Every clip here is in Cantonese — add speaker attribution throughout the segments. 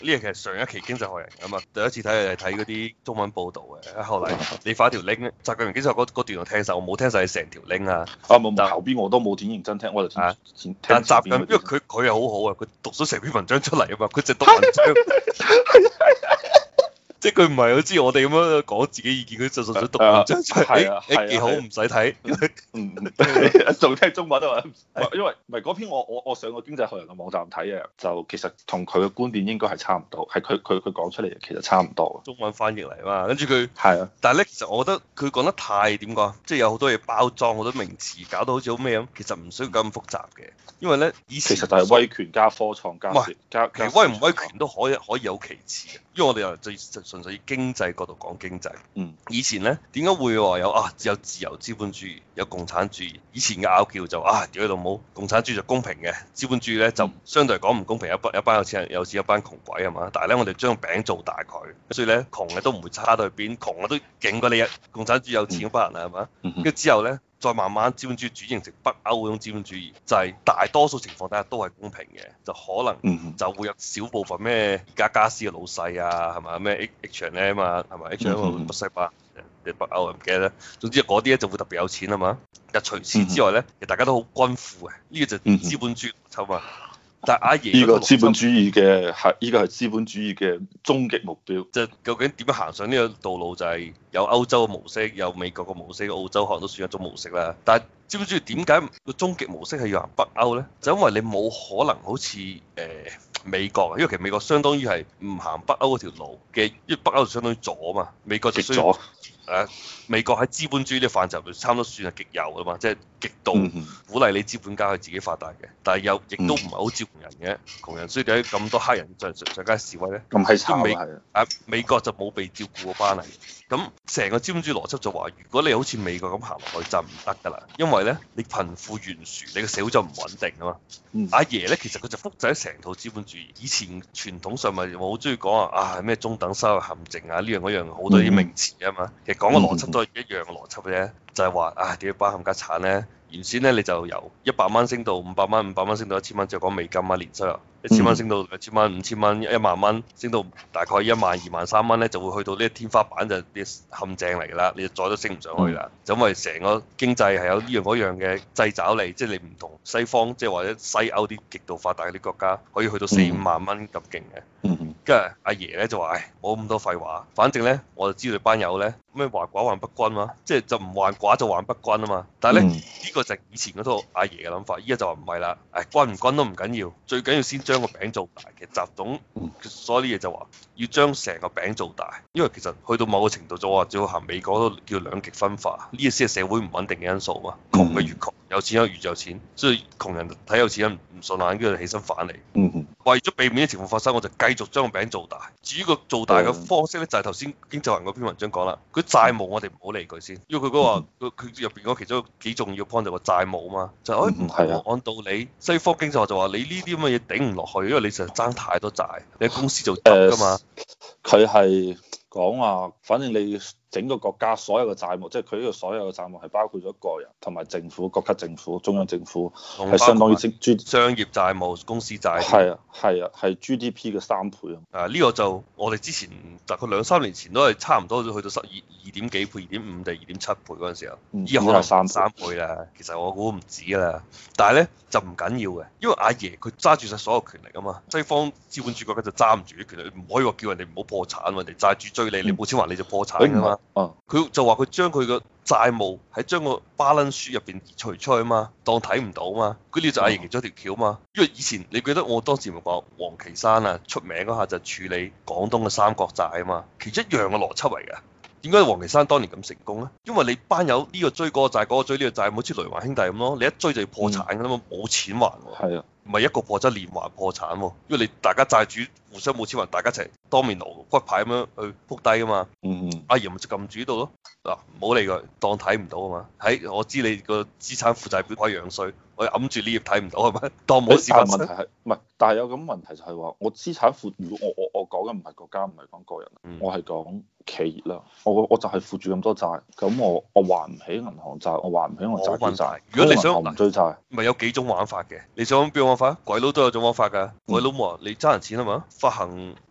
Speaker 1: 呢個其實上一期經濟學人啊嘛，第一次睇係睇嗰啲中文報導嘅，後嚟你發一條 link 咧，習近平經濟學嗰段我聽晒，我冇聽晒你成條 link 啊。
Speaker 2: 冇後邊我都冇點認真聽，我就聽
Speaker 1: 但習近平，因為佢係好好啊，佢讀咗成篇文章出嚟啊嘛，佢淨讀文章。即係佢唔係好似我哋咁樣講自己意見，佢就純粹讀文章出嚟，幾好唔使睇。
Speaker 2: 仲聽中文啊嘛，因為唔係嗰篇我上個經濟學人嘅網站睇嘅，就其實同佢嘅觀點應該係差唔多，係佢講出嚟其實差唔多。
Speaker 1: 中文翻譯嚟嘛，跟住佢
Speaker 2: 係啊，
Speaker 1: 但係咧，其實我覺得佢講得太點講，即係有好多嘢包裝，好多名詞搞到好似好咩咁，其實唔需要咁複雜嘅，因為咧以前
Speaker 2: 其實就係威權加科創加
Speaker 1: 其實威唔威權都可以有其次嘅，因為我哋又純粹以經濟角度講經濟。以前咧點解會話有自由資本主義，有共產主義？以前嘅拗撬就屌你老母，共產主義就公平嘅，資本主義咧就相對嚟講唔公平，一班有錢人有錢，一班窮鬼係嘛？但係咧我哋將餅做大佢，所以咧窮嘅都唔會差到去邊，窮嘅都勁過你共產主義有錢嗰班人係嘛？跟住之後咧，再慢慢資本主義轉型成北歐嗰種資本主義，就係大多數情況底下都係公平嘅，就可能就會有少部分咩家私嘅老細啊，係嘛咩 H&M 啊，係咪 H&M 北西班嘅北歐唔記得咧，總之嗰啲咧就會特別有錢啊嘛。但除此之外咧，其實大家都好均富嘅，呢個就資本主義邏輯嘛。但係阿爺
Speaker 2: 呢個資本主義嘅呢個係資本主義嘅終極目標。
Speaker 1: 即係究竟點樣行上呢個道路，就係有歐洲嘅模式，有美國嘅模式，澳洲可能都算一種模式啦。但係資本主義點解個終極模式係要行北歐咧？就因為你冇可能好似美國，因為其實美國相當於係唔行北歐嗰條路嘅，因為北歐就相當於左嘛，美國就需要美國喺資本主義呢個範疇就差唔多算係極右㗎嘛，即係極度鼓勵你資本家去自己發達嘅，但係又亦都唔係好照顧人嘅，窮人所以點解咁多黑人上街示威咧？
Speaker 2: 咁係慘啊！
Speaker 1: 美國就冇被照顧嗰班嚟，咁成個資本主義邏輯就話，如果你好似美國咁行落去就唔得㗎啦，因為咧你貧富懸殊，你個社會就唔穩定啊嘛。阿爺咧其實佢就複製咗成套資本主義，以前傳統上咪我好中意講咩中等收入陷阱啊，呢樣嗰樣好多啲名詞啊嘛，其實講嘅邏輯都係一樣嘅邏輯嘅啫，就係話點解班冚家產咧？原先咧你就由100蚊升到500蚊，500蚊升到1000蚊，就講美金啊，年收入1000蚊升到2000蚊、5000蚊、1萬蚊，升到大概1萬、2萬、3蚊咧，就會去到呢個天花板，就啲陷阱嚟㗎啦，你就再都升唔上去啦。就因為成個經濟係有呢樣嗰樣嘅掣肘你，即係你唔同西方，即係或者西歐啲極度發達嗰啲國家，可以去到4-5萬蚊咁勁嘅。跟住阿爺咧就話：冇咁多廢話，反正咧我就知道你班友咧咩患寡患不均嘛，即係就唔患寡就患不均啊嘛。但係咧呢個就係以前嗰套阿爺嘅諗法，依家就話唔係啦，均唔均都唔緊要，最緊要先將個餅做大。其實習總所有啲嘢就話要將成個餅做大，因為其實去到某個程度就話只要行美國都叫兩極分化，呢個先係社會唔穩定嘅因素嘛。窮嘅越窮，有錢人越有錢，所以窮人睇有錢人唔順眼，跟住起身反嚟。為咗避免啲情況發生，我就繼續將個餅做大。至於個做大嘅方式咧，就係頭先經濟學人嗰篇文章講啦。佢債務我哋唔好理佢先，因為佢嗰話佢入邊嗰其中幾重要 point 就係個債務啊嘛。就按道理西方經濟學就話你呢啲咁嘅嘢頂唔落去，因為你實在爭太多債，你公司就執㗎嘛。
Speaker 2: 佢係講話，反正你整個國家所有嘅債務，即係佢呢個所有嘅債務係包括咗個人同埋政府、國級政府、中央政府，係相當於
Speaker 1: 商業債務、公司債。
Speaker 2: 係 GDP 嘅3倍啊！
Speaker 1: 呢個就我哋之前大概2-3年前都係差唔多去到2點幾倍、2.5定2.7倍嗰陣時候，依家可能3倍啦。其實我估唔止啦，但係咧就唔緊要嘅，因為阿爺佢揸住晒所有權力啊嘛。西方資本主義國家就揸唔住啲權力，唔可以話叫人哋唔好破產，人哋債主追你，你冇錢還你就破產㗎嘛。佢就話佢將佢個債務喺將個 balance sheet 入邊除出去嘛，當睇唔到嘛。佢呢就阿爺其中一條橋嘛。因為以前你記得我當時咪講王岐山啊出名嗰下就處理廣東嘅三角債啊嘛，其中一樣嘅邏輯嚟㗎。點解王岐山當年咁成功咧？因為你班友呢個追嗰個債，嗰個追呢個債，好似雷環兄弟咁咯。你一追就要破產㗎啦嘛，冇錢還喎。唔係一個破產連環破產喎，因為你大家債主互相冇錢還，大家一齊當面攞骨牌咁樣去撲低啊嘛。阿爺咪就撳住呢度咯。嗱，唔好理佢，當睇唔到啊嘛。我知你個資產負債表可以樣衰，我揞住呢頁睇唔到係咪？當冇事發生。
Speaker 2: 問題係唔係？但係有咁問題就係話，我資產負，如果我講嘅唔係國家，唔係講個人，我係講企業啦。我就係負住咁多債，咁我還唔起銀行債，我還唔起我債主債。如果你想唔追債，
Speaker 1: 咪有幾種玩法嘅？你想邊種玩法？鬼佬都有種玩法㗎。鬼佬話你爭人錢啊嘛，發行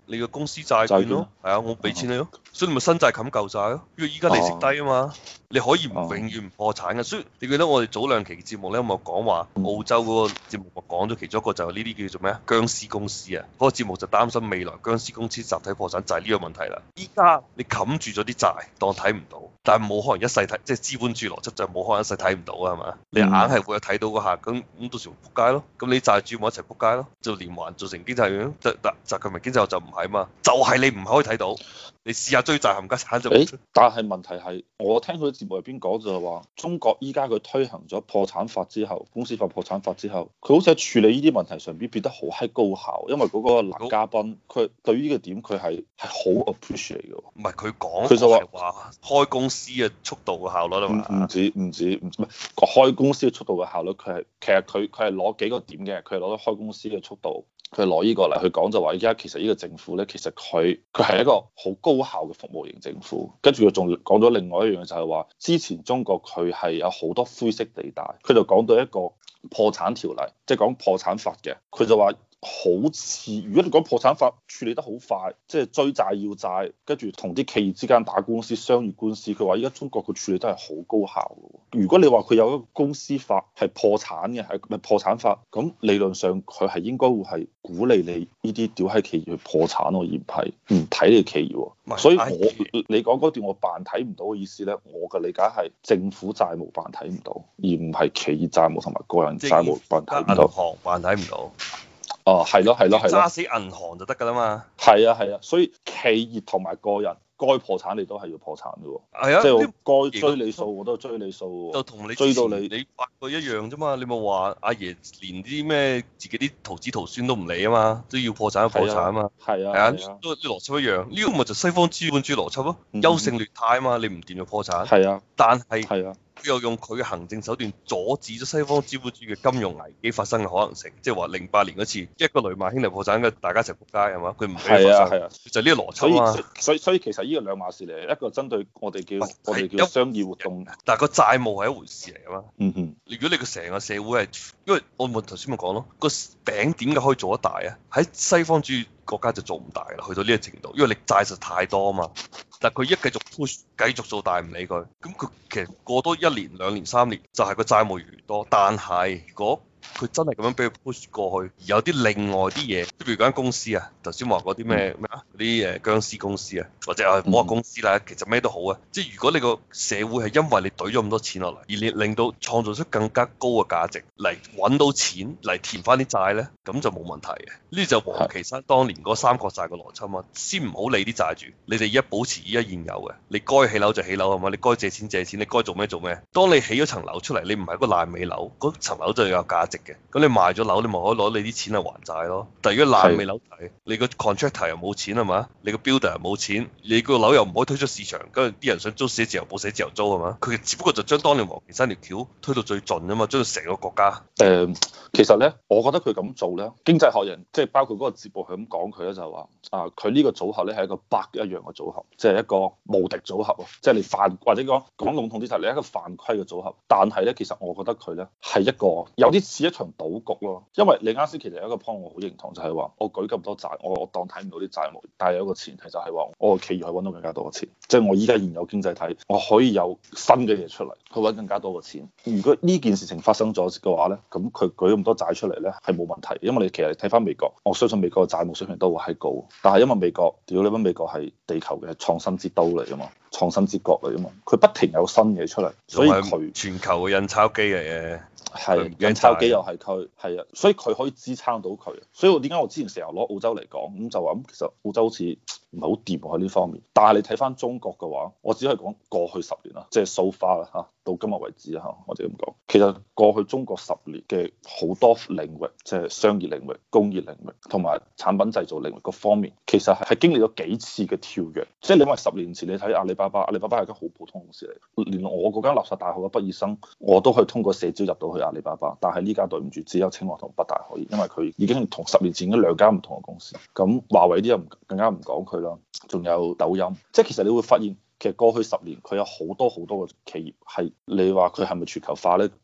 Speaker 1: 你個公司債券咯，係啊，我俾錢你咯，所以你咪新債冚舊債咯，因為依家利息低啊嘛，你可以唔永遠唔破產嘅。所以你記得我哋早兩期節目咧，有冇講話澳洲嗰個節目，我講咗其中一個就係呢啲叫做咩啊，僵屍公司啊，嗰個節目就擔心未來僵屍公司集體破產就係呢個問題啦。依家你冚住咗啲債，當睇唔到，但係冇可能一世睇，即係資本主義邏輯就冇可能一世睇唔到啊，係嘛？你硬係會有睇到嗰下，咁到時仆街咯。咁你債主咪一齊仆街咯，就連環造成經濟樣，就佢咪經濟學就唔係啊嘛，就係你唔可以睇到。你試下追債冚家產就。
Speaker 2: 但係問題係，我聽佢節目入邊講就係話，中國依家佢推行咗破產法之後，公司法破產法之後，佢好似喺處理呢啲問題上邊變得好閪高效，因為嗰個男嘉賓佢對於呢個點佢係好 appreciate 嘅。唔
Speaker 1: 係佢講，佢就話開公司嘅速度嘅效率啊嘛。
Speaker 2: 唔止，唔係開公司嘅速度嘅效率，其實佢係攞幾個點嘅，佢係攞咗開公司嘅速度。佢攞呢個嚟去講就話，而家其實呢個政府咧，其實佢係一個好高效嘅服務型政府。跟住佢仲講咗另外一樣嘢，就係話之前中國佢係有好多灰色地帶。佢就講到一個破產條例，即係講破產法嘅。佢就話好似如果你講破產法處理得好快，即係追債要債，跟住同啲企業之間打官司、商業官司。佢話依家中國佢處理得係好高效嘅。如果你話佢有一個公司法係破產嘅，係咪破產法？咁理論上佢係應該會係鼓勵你呢啲屌閪企業去破產咯，而唔係唔睇你企業。所以你講嗰段我扮睇唔到嘅意思咧，我嘅理解係政府債務扮睇唔到，而唔係企業債務同埋個人債務扮睇唔到。
Speaker 1: 銀行扮睇唔到。
Speaker 2: 哦，係咯，
Speaker 1: 揸死銀行就得㗎啦嘛。
Speaker 2: 係啊，所以企業同埋個人該破產你都係要破產嘅喎。
Speaker 1: 係啊，
Speaker 2: 即係該追你數我都追你數喎。
Speaker 1: 就同你
Speaker 2: 追到你
Speaker 1: 發過一樣啫嘛。你咪話阿爺連啲咩自己啲徒子徒孫都唔理啊嘛，都要破產破產啊嘛。
Speaker 2: 係啊，
Speaker 1: 都啲邏輯一樣。呢個咪就西方資本主義邏輯咯，優勝劣汰啊嘛。你唔掂就破產。
Speaker 2: 係啊，
Speaker 1: 但係佢又用佢嘅行政手段阻止咗西方資本主義嘅金融危機發生嘅可能性，即係話08年嗰次一個雷曼兄弟破產嘅，大家一齊仆街係嘛？佢唔俾發生，就呢個邏輯啊嘛。
Speaker 2: 所以其實呢個兩碼事嚟，一個針對我哋叫商業活動，
Speaker 1: 但係個債務係一回事嚟㗎嘛。如果你個成個社會係，因為我頭先咪講咯，個餅點解可以做得大啊？喺西方主義國家就做唔大啦，去到呢個程度，因為你債實太多啊嘛。但係佢一繼續 push，繼續做大唔理佢，咁佢其實過多1年、2年、3年就係個債務越嚟越多。但係如果佢真係咁樣俾佢 push 過去，而有啲另外啲嘢，譬如間公司啊，頭先話嗰啲咩啊，嗰啲殭屍公司啊，或者唔好話公司啦，其實咩都好啊。即係如果你個社會係因為你懟咗咁多錢落嚟，而你令到創造出更加高嘅價值嚟揾到錢嚟填翻啲債咧，咁就冇問題嘅。呢就王岐山當年嗰三角債嘅邏輯嘛，先唔好理啲債主，你哋而家保持依家現有嘅，你該起樓就起樓係嘛，你該借錢借錢，你該做咩做咩。當你起咗層樓出嚟，你唔係一個爛尾樓，嗰層樓就有價值嘅。咁你賣咗樓，你咪可以攞你啲錢嚟還債咯。但係如果爛尾樓睇，你個 contractor 又冇錢係嘛，你個 builder 又冇錢，你個樓又唔可以推出市場，跟住啲人想租寫字樓冇寫字樓租係嘛？佢只不過就將當年王岐山條橋推到最盡啫嘛，將到成個國家。
Speaker 2: 其實咧，我覺得佢咁做咧，經濟學人即係包括嗰個節目係咁講佢咧，就係話佢呢個組合咧係一個 bug 一樣嘅組合，即係一個無敵組合啊！即係你犯或者講籠統啲就係你一個犯規嘅組合。但係咧，其實我覺得佢咧係一個有啲似一場賭局咯。因為你啱先其實有一個 point 我好認同，就係話我舉咁多債，我當睇唔到啲債務，但係有一個前提就係話我個企業可以揾到更加多嘅錢，即係我依家現有經濟體，我可以有新嘅嘢出嚟去揾更加多嘅錢。如果呢件事情發生咗嘅話咧，咁佢舉咁多債出嚟咧係冇問題，因為你其實睇翻美國，我相信美國嘅債務水平都會係高，但係因為美國屌你乜，美國係地球嘅創新之都嚟啊嘛，創新之國嚟啊嘛，佢不停有新嘢出嚟，所以佢
Speaker 1: 全球嘅印鈔機嚟嘅。
Speaker 2: 係印鈔機又係佢，係啊，所以佢可以支撐到佢。所以我點解我之前成日攞澳洲嚟講，咁就話咁其實澳洲好似唔係好掂喺呢方面。但係你睇翻中國嘅話，我只可以講過去10年啦，即係 so far 啦嚇，到今日為止嚇，我哋咁講。其實過去中國10年嘅好多領域，即係商業領域、工業領域同埋產品製造領域各方面，其實係經歷咗幾次嘅跳躍。即係你話10年前你睇阿里巴巴，阿里巴巴係間好普通公司嚟，連我嗰間垃圾大學嘅畢業生，我都可以通過社招入到去阿里巴巴。但係呢家對唔住，只有清華同北大可以，因為佢已經同10年前嗰兩間唔同嘅公司。咁華為啲又更加唔講佢啦，仲有抖音。即係其實你會發現，其實過去10年佢有好多好多嘅企業係，你話佢係咪全球化咧？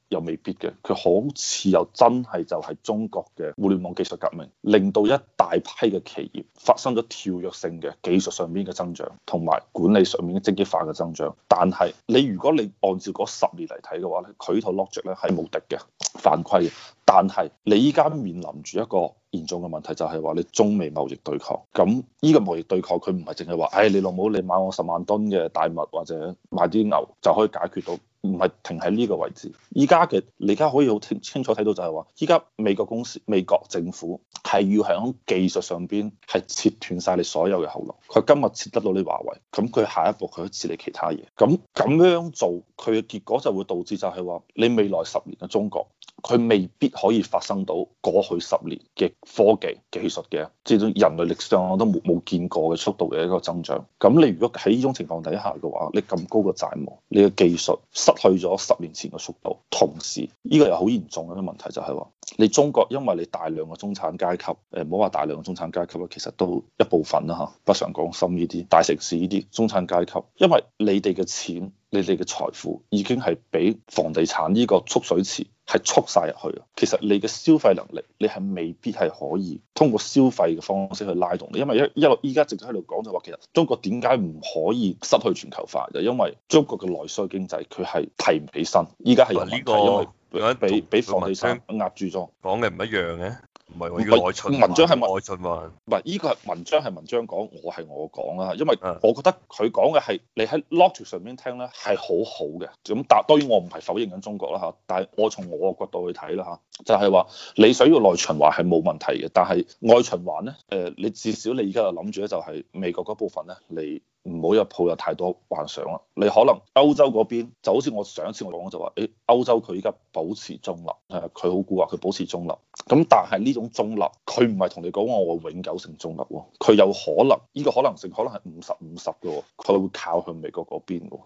Speaker 2: 又未必嘅，佢好似又真係就係中國嘅互聯網技術革命，令到一大批嘅企業發生咗跳躍性嘅技術上面嘅增長，同埋管理上面嘅積極化嘅增長。但係你如果你按照嗰10年嚟睇嘅話咧，佢套 logic 咧係無敵嘅，犯規嘅。但係你依家面臨住一個嚴重嘅問題，就係話你中美貿易對抗。咁呢個貿易對抗佢唔係淨係話，唉，你老母你買我10萬噸嘅大麥或者買啲牛就可以解決到，唔係停喺呢個位置。依家嘅你而家可以好清楚睇到就係話，依家美國公司、美國政府係要喺技術上邊係切斷晒你所有嘅後路。佢今日切得到你華為，咁佢下一步佢可以切你其他嘢。咁樣做，佢嘅結果就會導致就係話，你未來10年嘅中國，佢未必可以發生到過去10年嘅科技技術嘅，即係人類歷史上我都冇見過嘅速度嘅一個增長。咁你如果喺呢種情況底下嘅話，你咁高嘅債務，你嘅技術失去咗10年前嘅速度，同時呢個又好嚴重嘅一個問題就係話，你中國因為你大量嘅中產階級，唔好話大量嘅中產階級啦，其實都一部分啦嚇，北上廣深呢啲大城市呢啲中產階級，因為你哋嘅錢、你哋嘅財富已經係俾房地產呢個蓄水池係蓄晒入去啊！其實你嘅消費能力，你係未必係可以通過消費嘅方式去拉動你，因為一路依家直接喺度講就話，其實中國點解唔可以失去全球化？就因為中國嘅內需經濟佢係提唔起身，依家係有問題，因為俾房地產壓住咗。
Speaker 1: 講嘅唔一樣嘅。唔係喎，要內循環。
Speaker 2: 文章係
Speaker 1: 內循環，
Speaker 2: 唔係依個係文章係文章講，我係我講啦。因為我覺得佢講嘅係你喺 logic 上面聽咧係好好嘅。咁但當然我唔係否認緊中國啦嚇，但係我從我嘅角度去睇啦嚇，就係話你想要內循環係冇問題嘅，但係外循環咧，你至少你而家就諗住咧就係美國嗰部分咧，你唔好有抱有太多幻想啦。你可能歐洲嗰邊就好似我上一次我講就話，誒歐洲佢依家保持中立，佢好固話佢保持中立。咁但係呢種中立，佢唔係同你講我永久性中立喎，佢有可能呢個可能性可能係50-50嘅喎，佢會靠向美國嗰邊喎。